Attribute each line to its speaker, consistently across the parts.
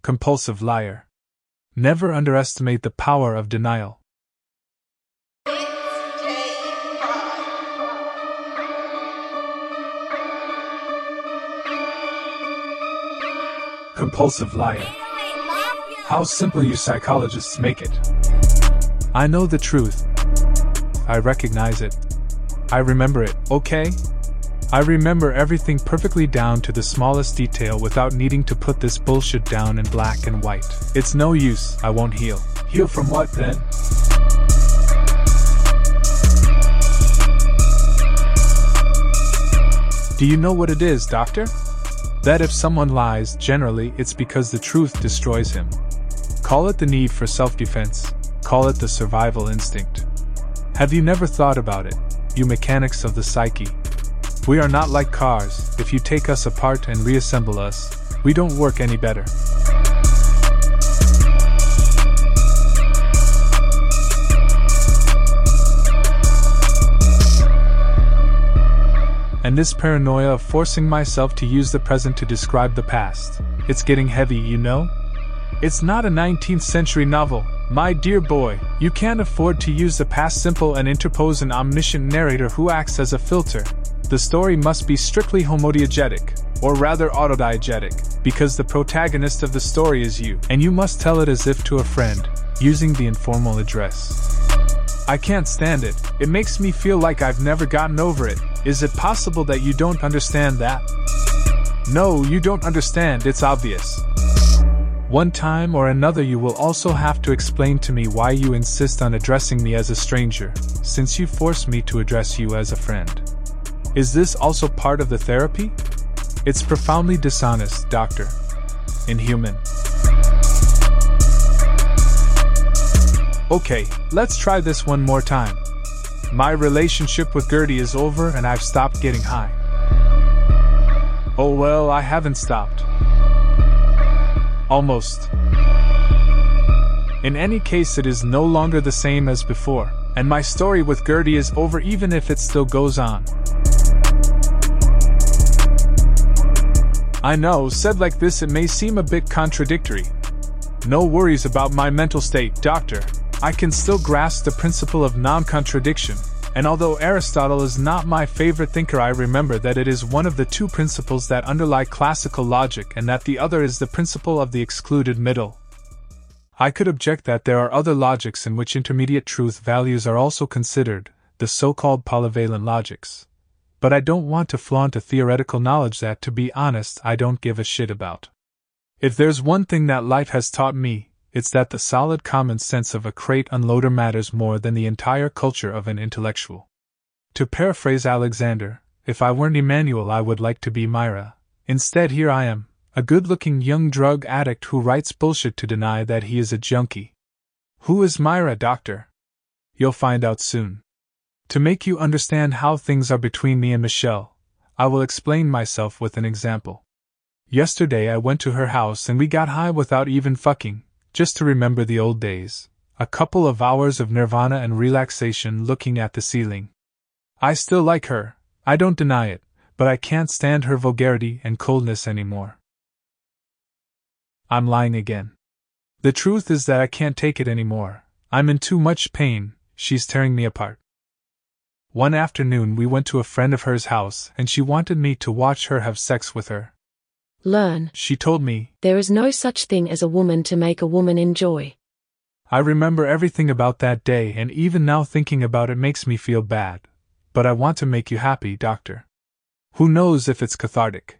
Speaker 1: Compulsive liar. Never underestimate the power of denial. Compulsive liar. How simple you psychologists make it. I know the truth. I recognize it. I remember it, okay? I remember everything perfectly down to the smallest detail without needing to put this bullshit down in black and white. It's no use, I won't heal. Heal from what then? Do you know what it is, doctor? That if someone lies, generally it's because the truth destroys him. Call it the need for self-defense. Call it the survival instinct. Have you never thought about it, you mechanics of the psyche? We are not like cars. If you take us apart and reassemble us, we don't work any better. And this paranoia of forcing myself to use the present to describe the past, it's getting heavy, you know? It's not a 19th century novel, my dear boy. You can't afford to use the past simple and interpose an omniscient narrator who acts as a filter. The story must be strictly homodiegetic, or rather autodiegetic, because the protagonist of the story is you, and you must tell it as if to a friend, using the informal address. I can't stand it. It makes me feel like I've never gotten over it. Is it possible that you don't understand that? No, you don't understand, it's obvious. One time or another you will also have to explain to me why you insist on addressing me as a stranger, since you force me to address you as a friend. Is this also part of the therapy? It's profoundly dishonest, doctor. Inhuman. Okay, let's try this one more time. My relationship with Gertie is over and I've stopped getting high. Oh well, I haven't stopped. Almost. In any case, it is no longer the same as before, and my story with Gertie is over even if it still goes on. I know, said like this it may seem a bit contradictory. No worries about my mental state, doctor. I can still grasp the principle of non-contradiction, and although Aristotle is not my favorite thinker, I remember that it is one of the two principles that underlie classical logic and that the other is the principle of the excluded middle. I could object that there are other logics in which intermediate truth values are also considered, the so-called polyvalent logics. But I don't want to flaunt a theoretical knowledge that, to be honest, I don't give a shit about. If there's one thing that life has taught me, it's that the solid common sense of a crate unloader matters more than the entire culture of an intellectual. To paraphrase Alexander, if I weren't Emmanuel I would like to be Myra. Instead here I am, a good-looking young drug addict who writes bullshit to deny that he is a junkie. Who is Myra, doctor? You'll find out soon. To make you understand how things are between me and Michelle, I will explain myself with an example. Yesterday I went to her house and we got high without even fucking. Just to remember the old days, a couple of hours of nirvana and relaxation looking at the ceiling. I still like her, I don't deny it, but I can't stand her vulgarity and coldness anymore. I'm lying again. The truth is that I can't take it anymore. I'm in too much pain, she's tearing me apart. One afternoon we went to a friend of hers' house and she wanted me to watch her have sex with her.
Speaker 2: Learn.
Speaker 1: She told me,
Speaker 2: there is no such thing as a woman to make a woman enjoy.
Speaker 1: I remember everything about that day and even now thinking about it makes me feel bad. But I want to make you happy, doctor. Who knows if it's cathartic?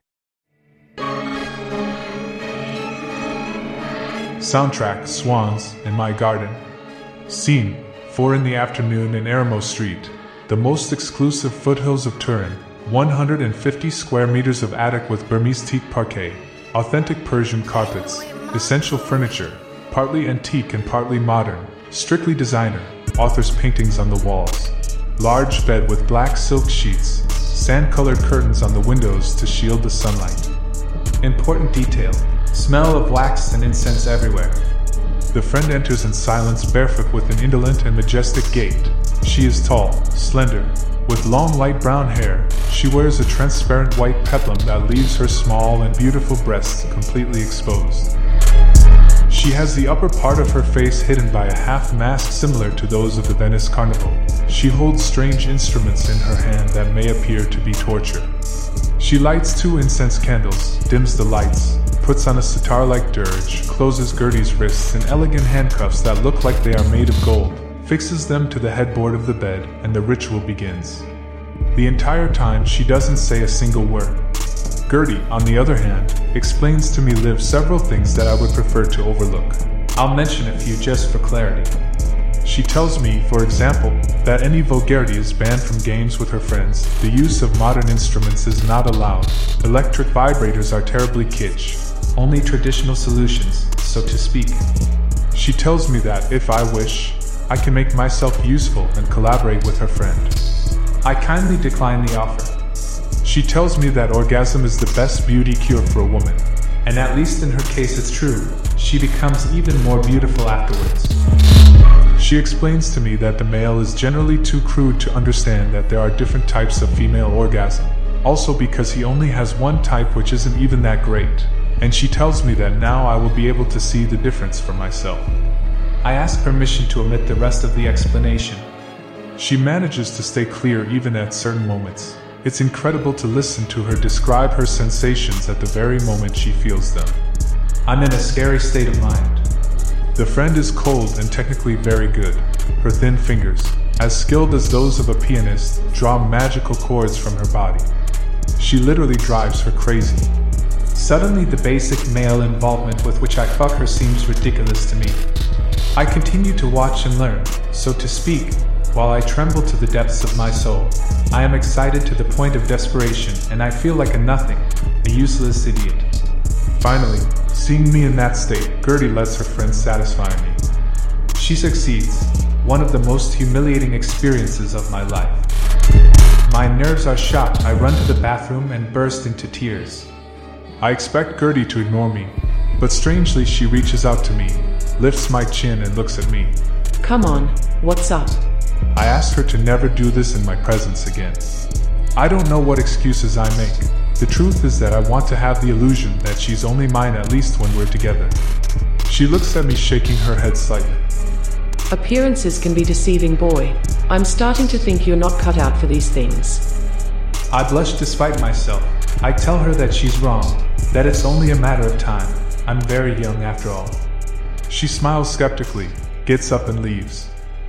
Speaker 1: Soundtrack, Swans, in my garden. Scene, 4 in the afternoon in Eremo Street, the most exclusive foothills of Turin. 150 square meters of attic with Burmese teak parquet, authentic Persian carpets, essential furniture, partly antique and partly modern, strictly designer, author's paintings on the walls, large bed with black silk sheets, sand-colored curtains on the windows to shield the sunlight. Important detail, smell of wax and incense everywhere. The friend enters in silence, barefoot with an indolent and majestic gait. She is tall, slender, with long light brown hair. She wears a transparent white peplum that leaves her small and beautiful breasts completely exposed. She has the upper part of her face hidden by a half mask similar to those of the Venice Carnival. She holds strange instruments in her hand that may appear to be torture. She lights 2 incense candles, dims the lights, puts on a sitar-like dirge, closes Gertie's wrists in elegant handcuffs that look like they are made of gold, fixes them to the headboard of the bed, and the ritual begins. The entire time she doesn't say a single word. Gertie, on the other hand, explains to me several things that I would prefer to overlook. I'll mention a few just for clarity. She tells me, for example, that any vulgarity is banned from games with her friends, the use of modern instruments is not allowed, electric vibrators are terribly kitsch, only traditional solutions, so to speak. She tells me that, if I wish, I can make myself useful and collaborate with her friend. I kindly decline the offer. She tells me that orgasm is the best beauty cure for a woman, and at least in her case it's true, she becomes even more beautiful afterwards. She explains to me that the male is generally too crude to understand that there are different types of female orgasm, also because he only has one type which isn't even that great, and she tells me that now I will be able to see the difference for myself. I ask permission to omit the rest of the explanation. She manages to stay clear even at certain moments. It's incredible to listen to her describe her sensations at the very moment she feels them. I'm in a scary state of mind. The friend is cold and technically very good. Her thin fingers, as skilled as those of a pianist, draw magical chords from her body. She literally drives her crazy. Suddenly the basic male involvement with which I fuck her seems ridiculous to me. I continue to watch and learn, so to speak, while I tremble to the depths of my soul. I am excited to the point of desperation, and I feel like a nothing, a useless idiot. Finally, seeing me in that state, Gertie lets her friend satisfy me. She succeeds, one of the most humiliating experiences of my life. My nerves are shot. I run to the bathroom and burst into tears. I expect Gertie to ignore me, but strangely she reaches out to me, lifts my chin and looks at me.
Speaker 2: Come on, what's up?
Speaker 1: I ask her to never do this in my presence again. I don't know what excuses I make. The truth is that I want to have the illusion that she's only mine at least when we're together. She looks at me shaking her head slightly.
Speaker 2: Appearances can be deceiving, boy. I'm starting to think you're not cut out for these things.
Speaker 1: I blush despite myself. I tell her that she's wrong, that it's only a matter of time. I'm very young after all. She smiles skeptically, gets up and leaves.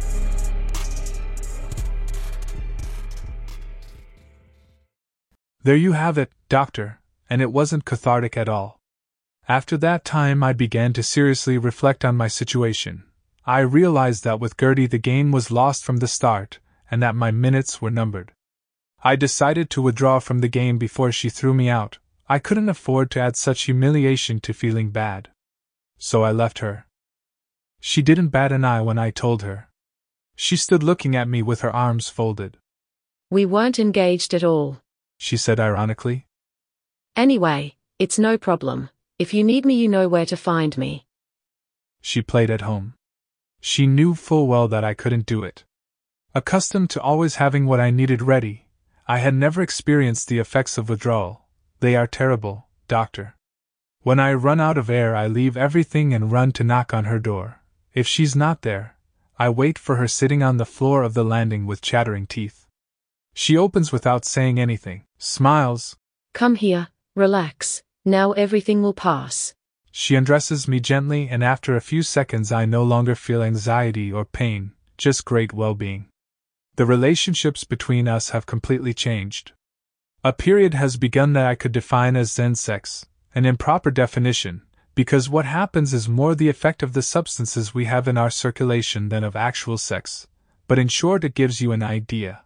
Speaker 1: There you have it, Doctor, and it wasn't cathartic at all. After that time I began to seriously reflect on my situation. I realized that with Gertie the game was lost from the start, and that my minutes were numbered. I decided to withdraw from the game before she threw me out. I couldn't afford to add such humiliation to feeling bad. So I left her. She didn't bat an eye when I told her. She stood looking at me with her arms folded.
Speaker 2: We weren't engaged at all,
Speaker 1: she said ironically.
Speaker 2: Anyway, it's no problem. If you need me, you know where to find me.
Speaker 1: She played at home. She knew full well that I couldn't do it. Accustomed to always having what I needed ready, I had never experienced the effects of withdrawal. They are terrible, Doctor. When I run out of air, I leave everything and run to knock on her door. If she's not there, I wait for her sitting on the floor of the landing with chattering teeth. She opens without saying anything, smiles.
Speaker 2: Come here, relax, now everything will pass.
Speaker 1: She undresses me gently, and after a few seconds I no longer feel anxiety or pain, just great well-being. The relationships between us have completely changed. A period has begun that I could define as Zen sex, an improper definition, because what happens is more the effect of the substances we have in our circulation than of actual sex, but in short it gives you an idea.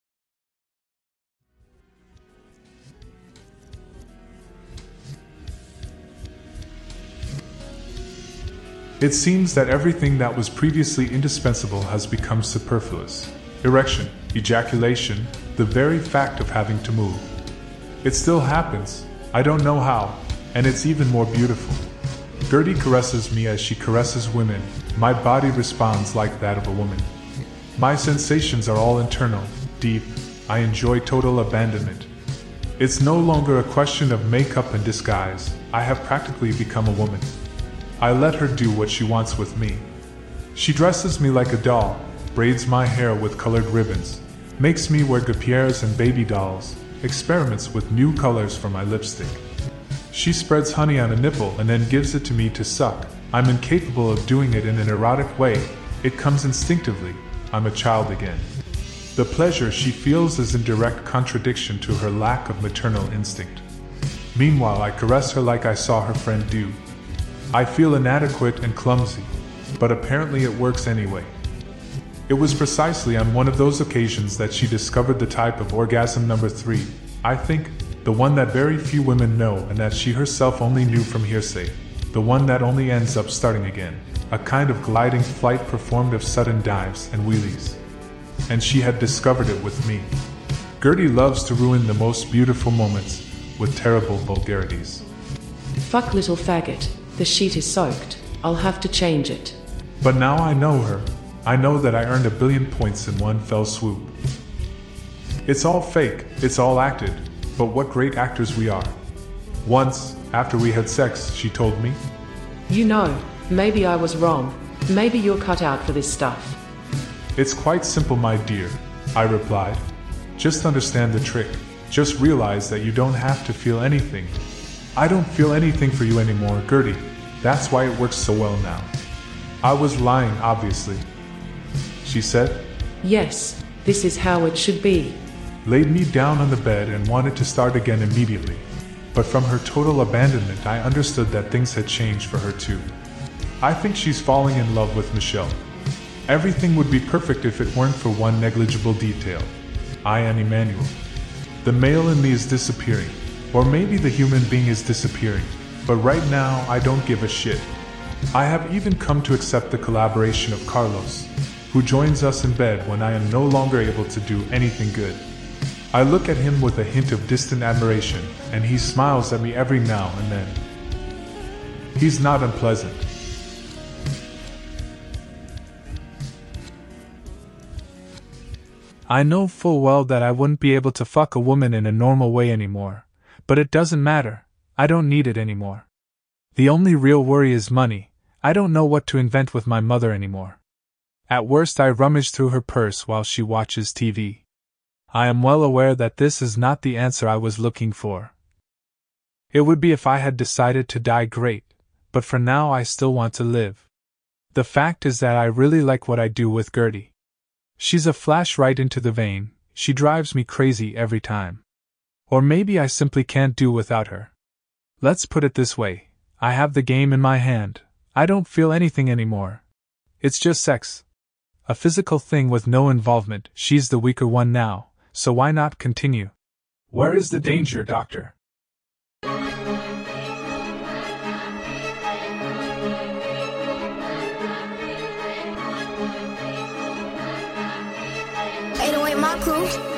Speaker 1: It seems that everything that was previously indispensable has become superfluous. Erection, ejaculation, the very fact of having to move. It still happens, I don't know how, and it's even more beautiful. Gertie caresses me as she caresses women. My body responds like that of a woman. My sensations are all internal, deep. I enjoy total abandonment. It's no longer a question of makeup and disguise. I have practically become a woman. I let her do what she wants with me. She dresses me like a doll, braids my hair with colored ribbons, makes me wear guipures and baby dolls, experiments with new colors for my lipstick. She spreads honey on a nipple and then gives it to me to suck. I'm incapable of doing it in an erotic way. It comes instinctively. I'm a child again. The pleasure she feels is in direct contradiction to her lack of maternal instinct. Meanwhile, I caress her like I saw her friend do. I feel inadequate and clumsy, but apparently it works anyway. It was precisely on one of those occasions that she discovered the type of orgasm number 3, I think, the one that very few women know and that she herself only knew from hearsay, the one that only ends up starting again, a kind of gliding flight performed of sudden dives and wheelies. And she had discovered it with me. Gertie loves to ruin the most beautiful moments with terrible vulgarities.
Speaker 2: Fuck little faggot, the sheet is soaked, I'll have to change it.
Speaker 1: But now I know her. I know that I earned 1 billion points in one fell swoop. It's all fake, it's all acted, but what great actors we are. Once, after we had sex, she told me,
Speaker 2: You know, maybe I was wrong. Maybe you're cut out for this stuff.
Speaker 1: It's quite simple, my dear, I replied. Just understand the trick. Just realize that you don't have to feel anything. I don't feel anything for you anymore, Gertie. That's why it works so well now. I was lying, obviously. She said,
Speaker 2: Yes, this is how it should be.
Speaker 1: Laid me down on the bed and wanted to start again immediately. But from her total abandonment, I understood that things had changed for her too. I think she's falling in love with Michel. Everything would be perfect if it weren't for one negligible detail. I am Emmanuel. The male in me is disappearing, or maybe the human being is disappearing, but right now I don't give a shit. I have even come to accept the collaboration of Carlos, who joins us in bed when I am no longer able to do anything good. I look at him with a hint of distant admiration, and he smiles at me every now and then. He's not unpleasant. I know full well that I wouldn't be able to fuck a woman in a normal way anymore, but it doesn't matter. I don't need it anymore. The only real worry is money. I don't know what to invent with my mother anymore. At worst, I rummage through her purse while she watches TV. I am well aware that this is not the answer I was looking for. It would be if I had decided to die, great, but for now I still want to live. The fact is that I really like what I do with Gertie. She's a flash right into the vein. She drives me crazy every time. Or maybe I simply can't do without her. Let's put it this way. I have the game in my hand. I don't feel anything anymore. It's just sex. A physical thing with no involvement. She's the weaker one now, so why not continue? Where is the danger, doctor?
Speaker 3: My crew.